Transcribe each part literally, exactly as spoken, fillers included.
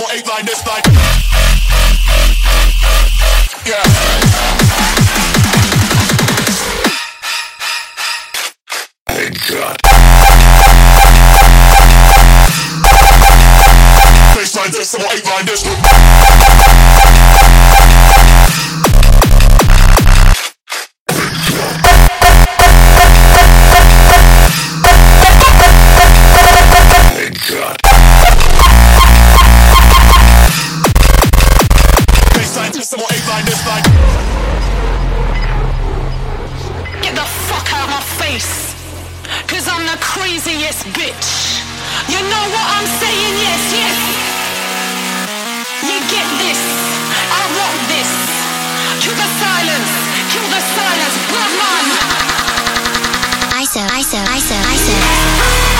seven, eight, nine, this like. Yeah. Headshot. Baseline, this seven, eight, nine, this. Get the fuck out my face, cause I'm the craziest bitch. You know what I'm saying? Yes, yes. You get this, I want this. Kill the silence, kill the silence, blood man. I S O, I S O, I S O, I S O.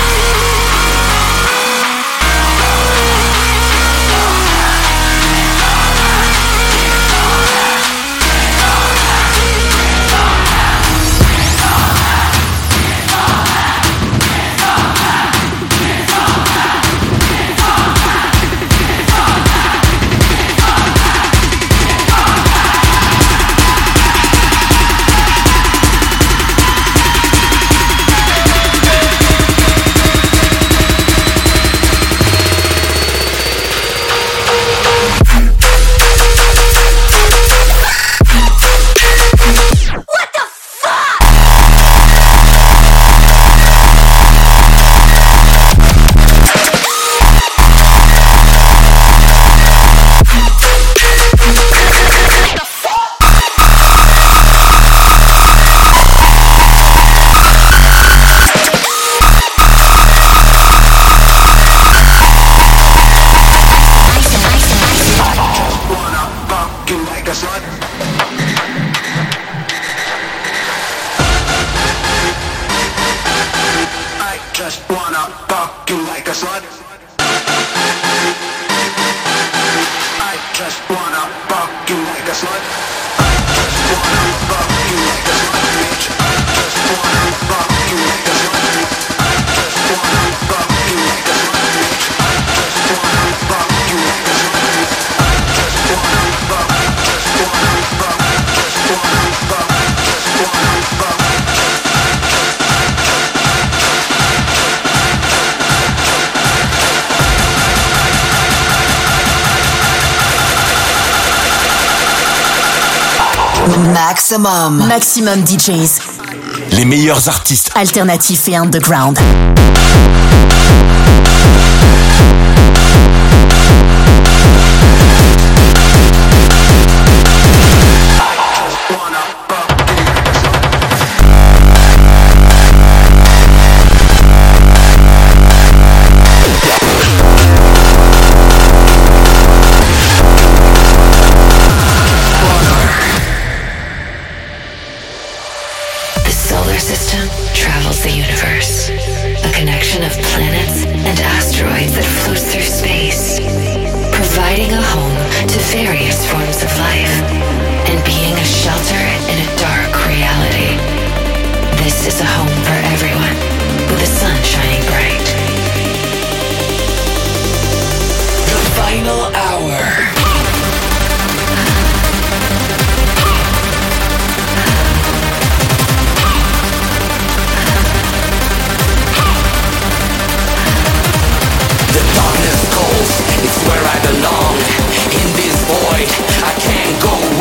Maximum. Maximum D Js. Les meilleurs artistes Alternatifs et underground. It's where I belong. In this void, I can't go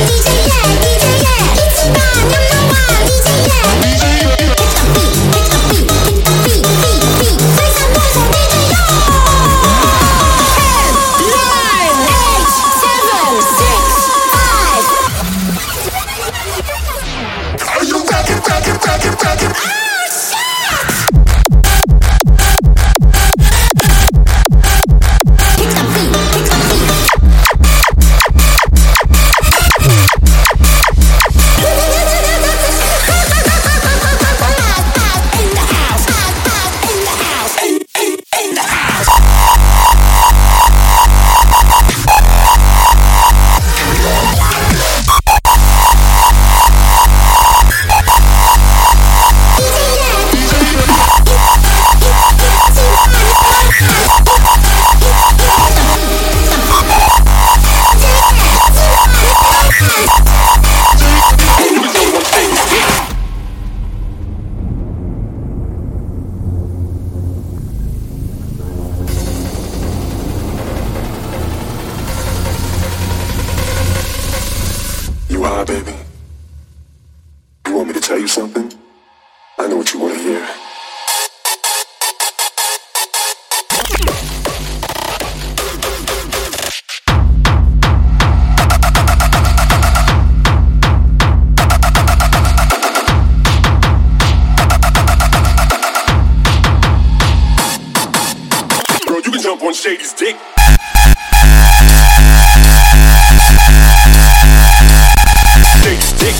D J yeah, D J yeah. 이지만 number one. Nah, baby. You want me to tell you something? I know what you want to hear. Girl, you can jump on Shady's dick. Shady's dick.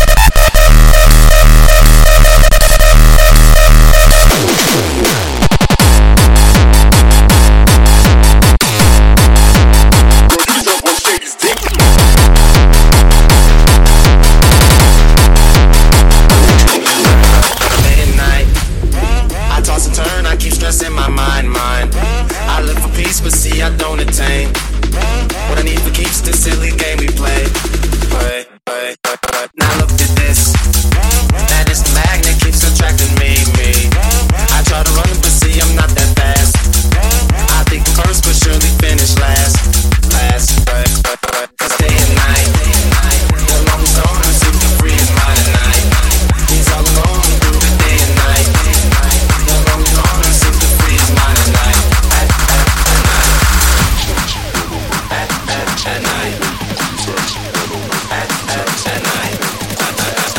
In my mind, mind. I look for peace, but see I don't attain. What I need for keeps this silly game we play. Play, play, play, play. Now look at this. That is the magnet keeps attracting me, me. I try to run, but see I'm not that fast. I think I'm first, but surely finish last. Last, play, play, play. Cause day and night, the longest zone seems to free his mind at night. He's all alone through the day and night. The longest zone seems to free his mind at night. At, at, at night. At, at, at night. At, at, at night. At,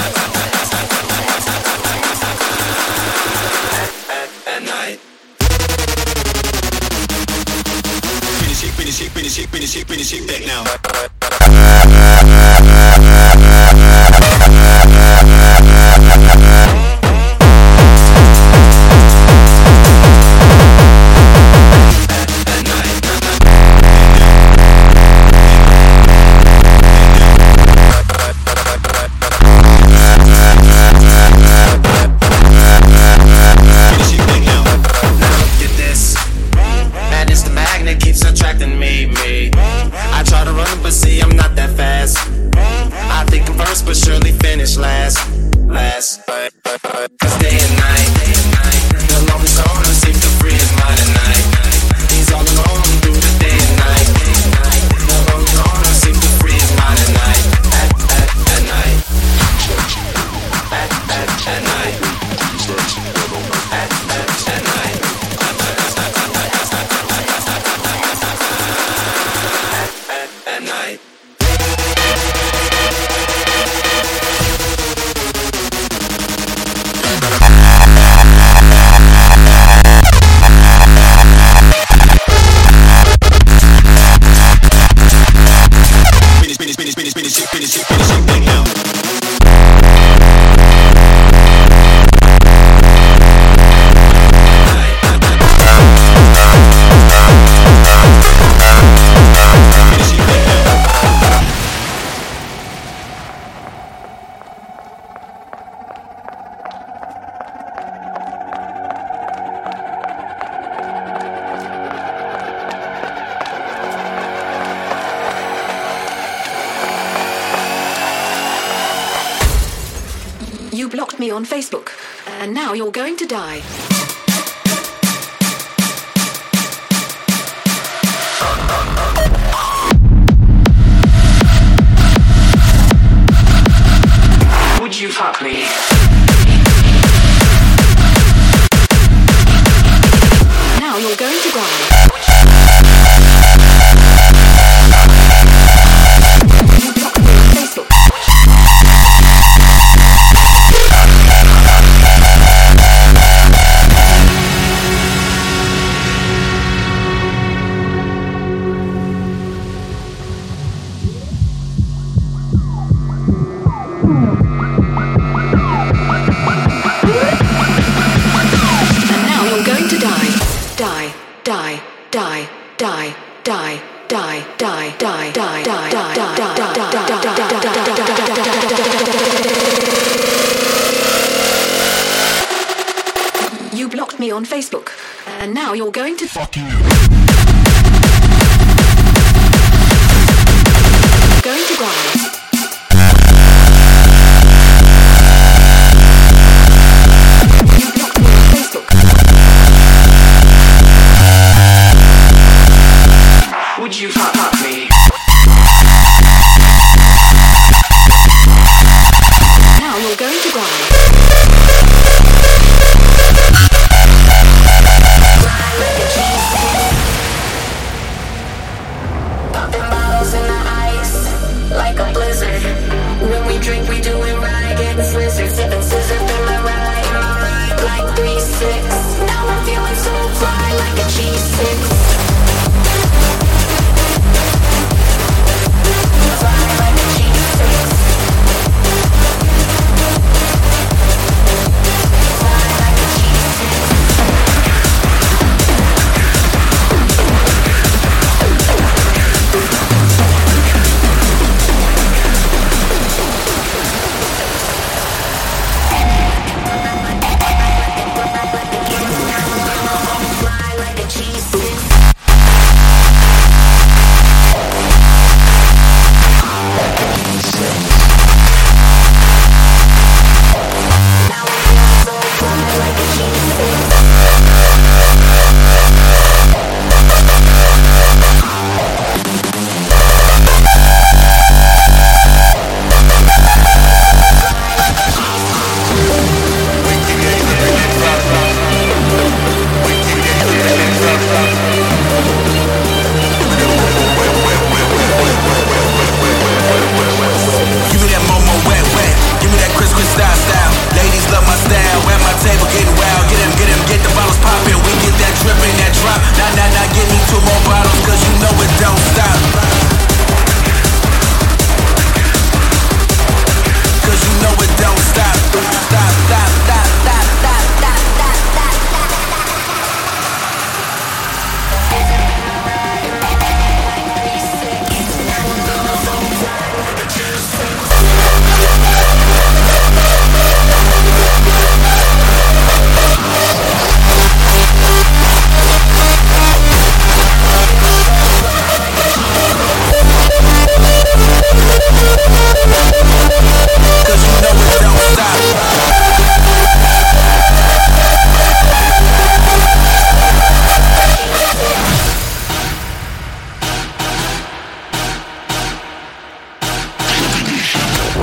at, at night. Finish it, finish it, finish it, finish it, finish it back now. You blocked me on Facebook, and now you're going to die. Would you fuck me? Now you're going to die. You blocked me on Facebook. You blocked me on Facebook, and now you're going to fuck you. Going to die. Would you fuck, fuck me?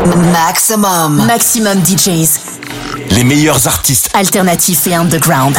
Maximum. Maximum D Js. Les meilleurs artistes alternatifs et underground.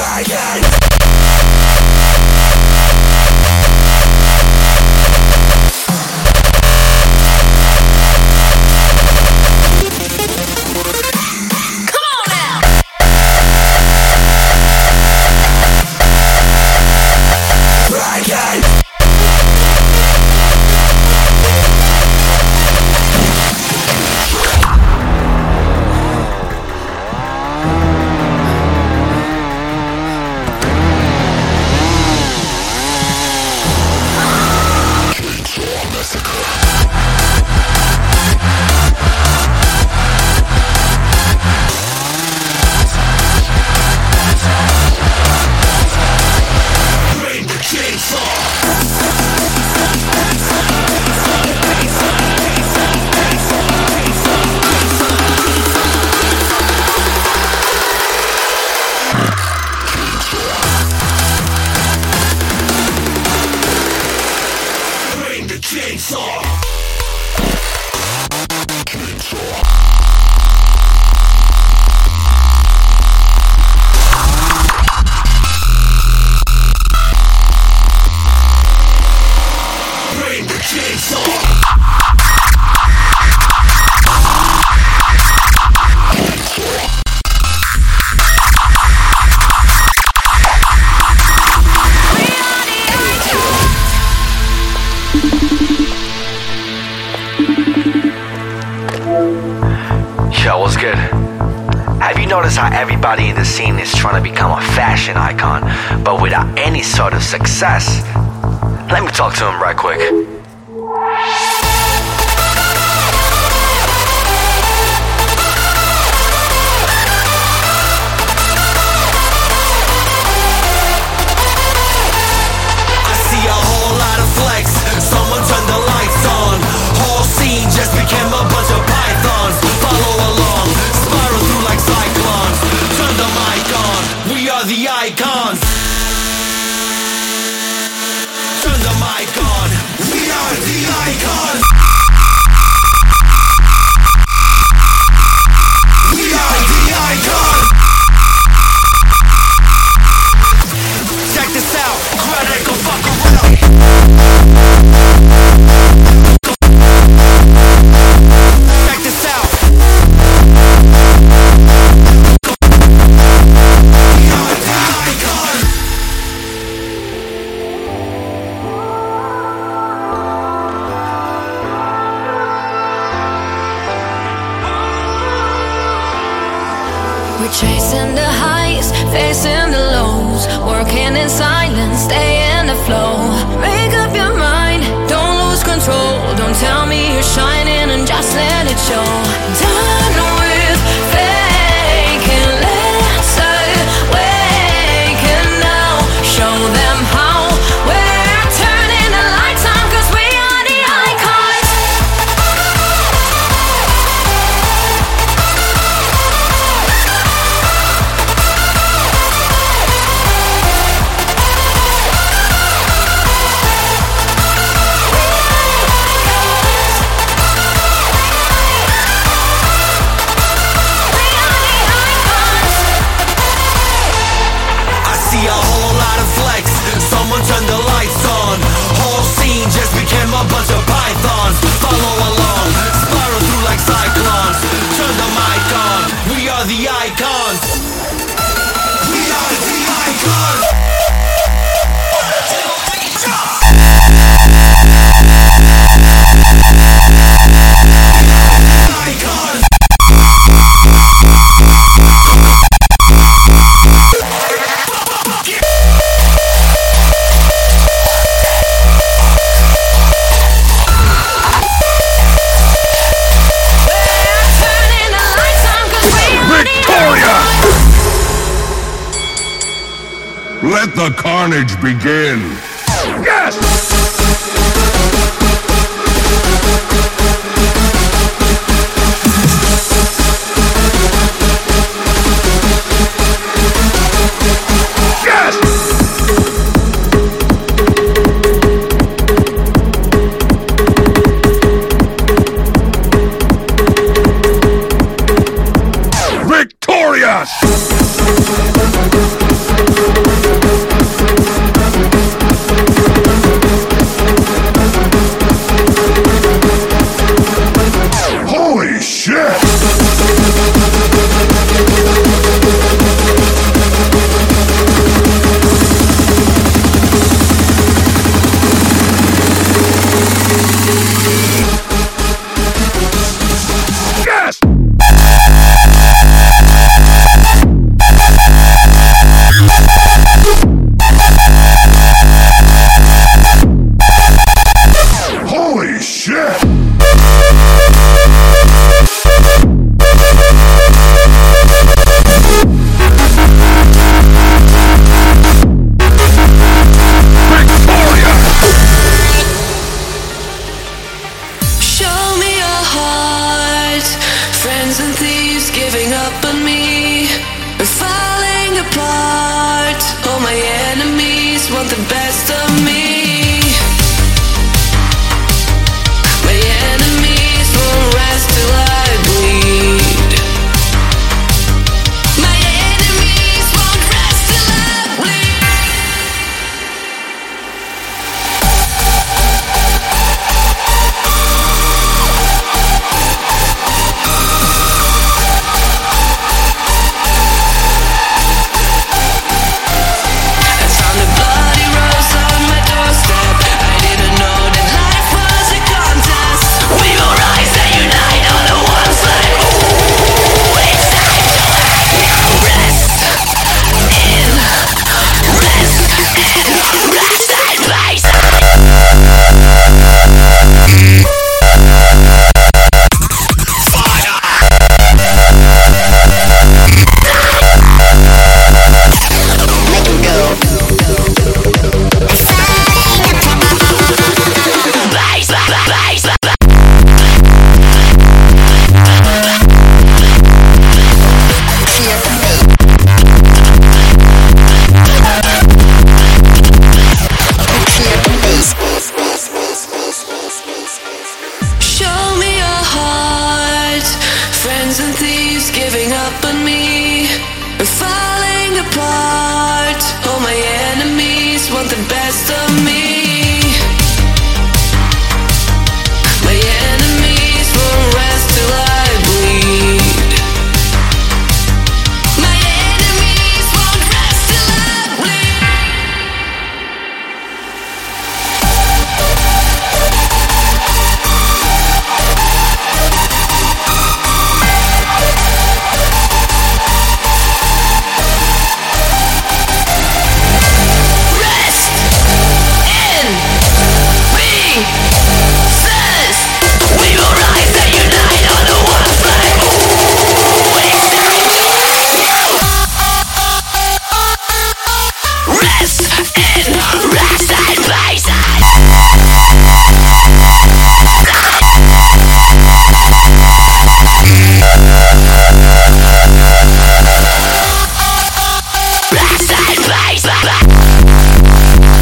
Yo, what's good? Have you noticed how everybody in the scene is trying to become a fashion icon, but without any sort of success? Let me talk to him right quick. Someone turned the lights on. Whole scene just became a bunch of pythons. Follow along, spiral through like cyclones. Turn the mic on, we are the icons. Turn the mic on, we are the icons. We are the icons. Check this out, crowd ain't gon' fuck around. We're chasing the highs, facing the lows, working in silence, stay in the flow. Make up your mind, don't lose control. Don't tell me you're shining and just let it show. Done with faking, let's awake and now show them how. We're turning the lights on 'cause we are the icons. Turn the lights on. Whole scene just became a bunch of pythons. Follow along, spiral through like cyclones. Turn the mic on, we are the icons. We are the icons. Let the carnage begin. Yes! Yes! Victorious! apart. All my enemies want the best of me. My enemies won't rest till I bleed. My enemies won't rest till I bleed. Rest in pieces. We will rise and unite under one flag. We stand. Rest in rest and pieces. Rest and pieces.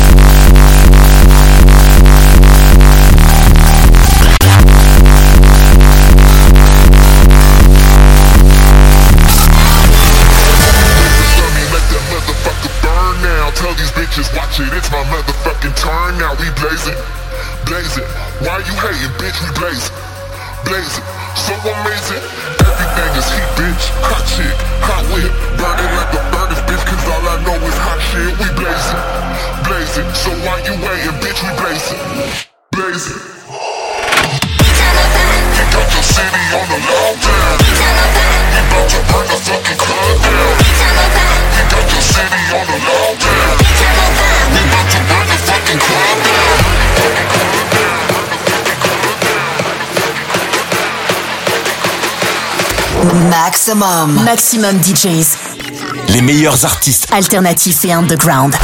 Let that motherfucker burn now. Tell these bitches, watch it, it's my motherfucking turn now. We blazing, blazing. Why you hating, bitch? We blazing, blazing. So amazing. Everything is heat, bitch. Hot shit, hot whip. Burning like a furnace, bitch. Cause all I know is hot shit. We blazing, blazing. So why you waiting, bitch? We blazing, blazing. You got your city on the lockdown. We about to burn the fucking club down. We got your city on the lockdown. We about to burn the fucking club down. Maximum. Maximum D Js. Les meilleurs artistes. Alternatifs et underground.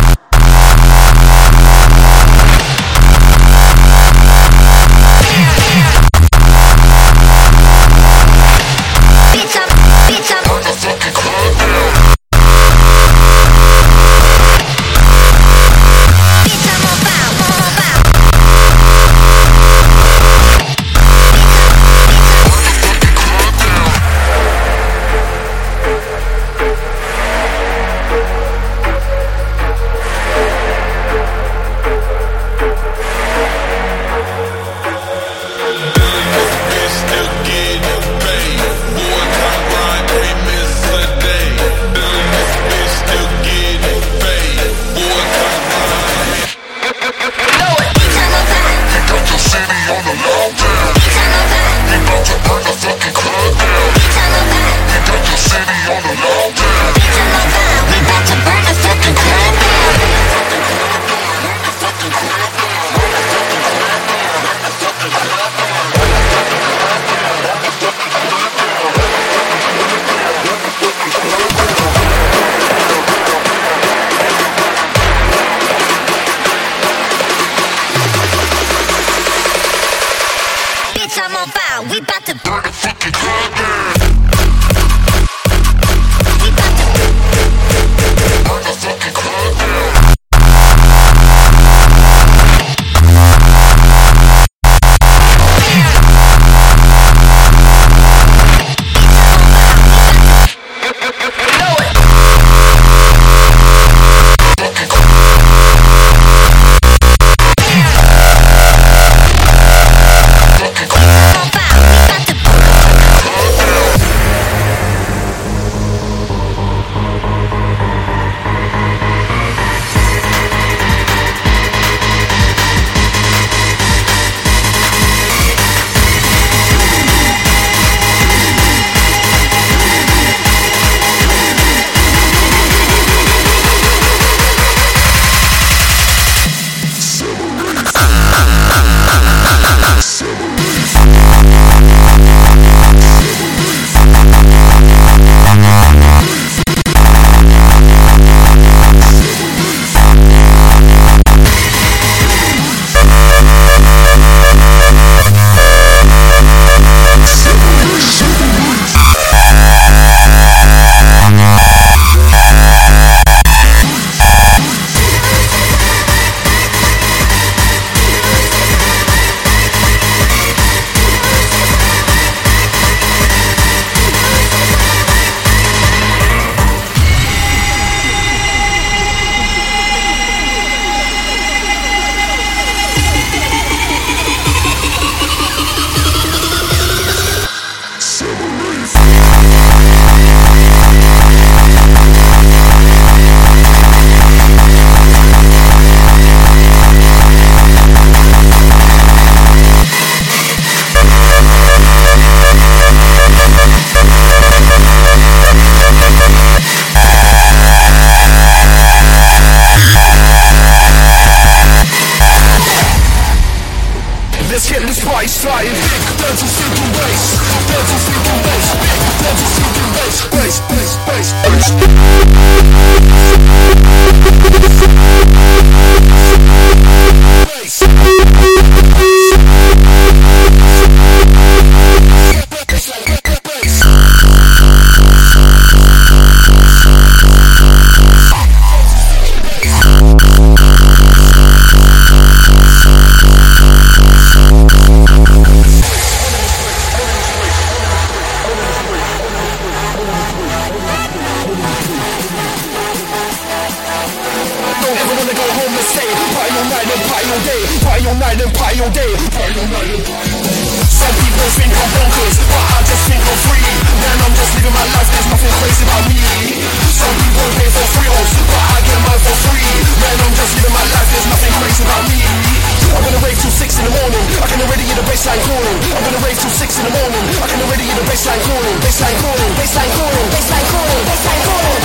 and party all day, party all night and party all day. Some people think I'm bonkers, but I just think I'm free. Man, I'm just living my life, there's nothing crazy about me. Some people pay for thrills, but I get mine for free. Man, I'm just living my life, there's nothing crazy about me. I'm gonna rave till six in the morning, I can already hear the bassline calling. I'm gonna rave till six in the morning, I can already hear the bassline calling. Bassline calling, bassline calling, bassline calling, bassline calling.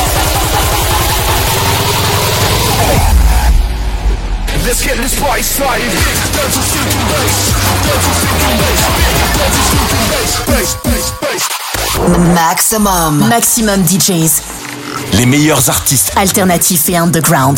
Let's get this party started. Down to stinking bass, down to stinking bass, down to stinking bass, bass, bass, bass. Maximum, Maximum D Js. Les meilleurs artistes alternatifs et underground.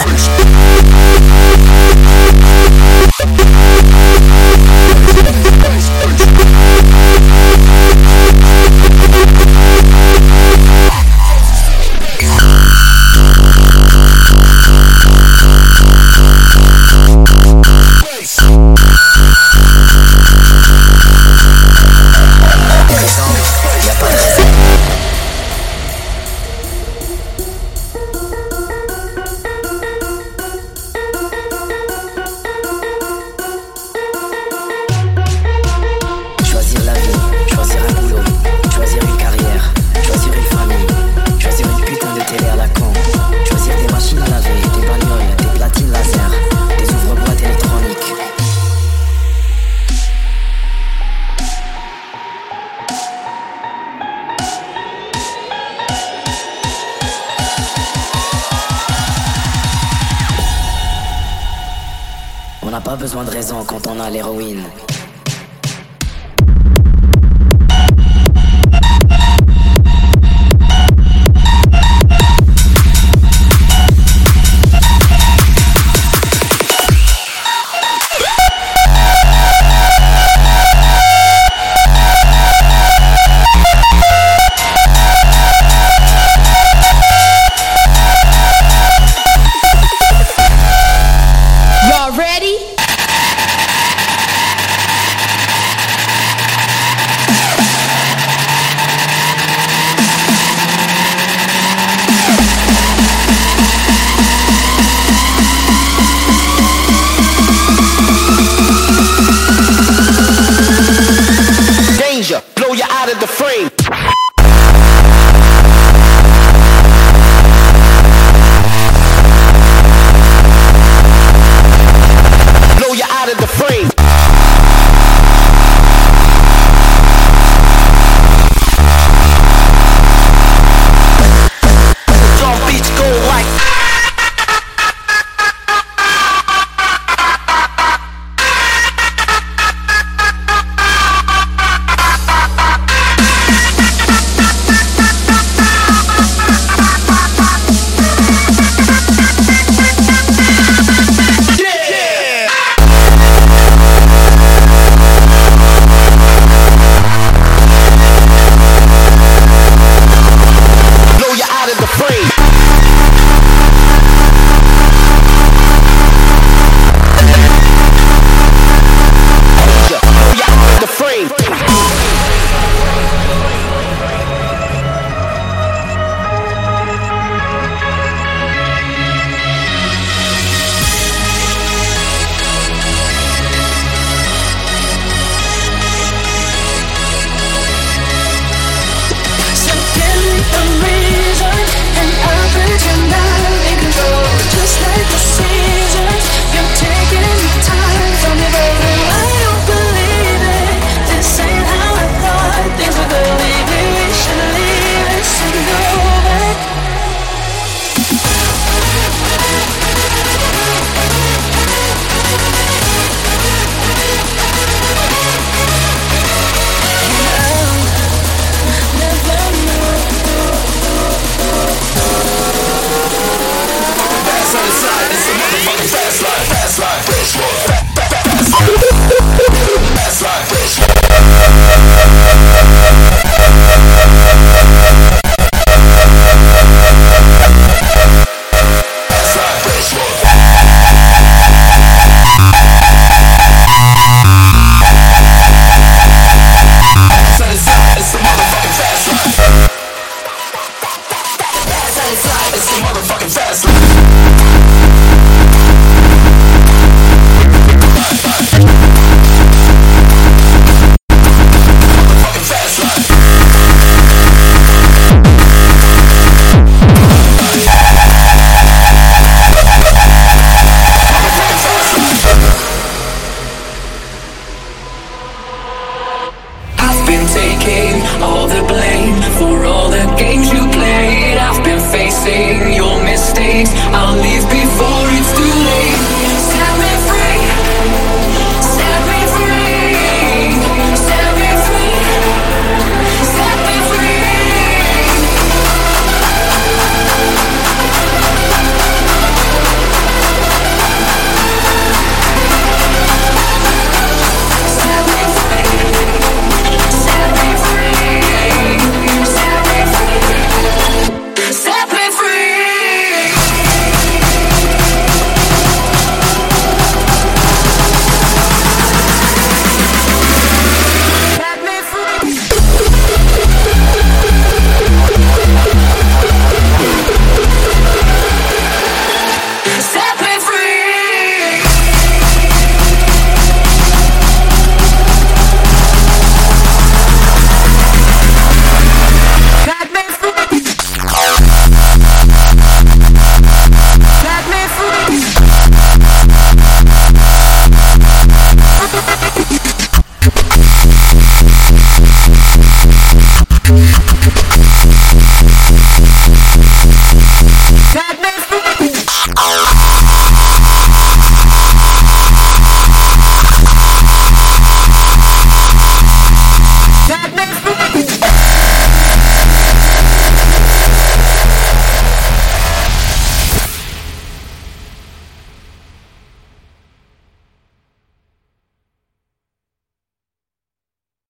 On n'a pas besoin de raison quand on a l'héroïne. It's a motherfucking fast life. pain. I'll leave before it's